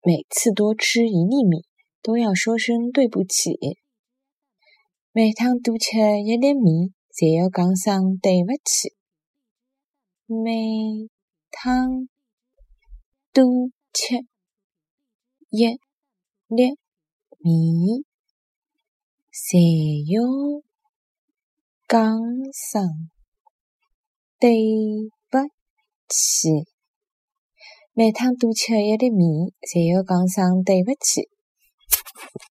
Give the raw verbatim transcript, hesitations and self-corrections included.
每次多吃一粒米，都要说声对不起。每趟多吃一粒米，侪要讲声对不起。每趟多吃一粒米，侪要讲声对不起。每趟多吃一粒米，侪要讲声对不起。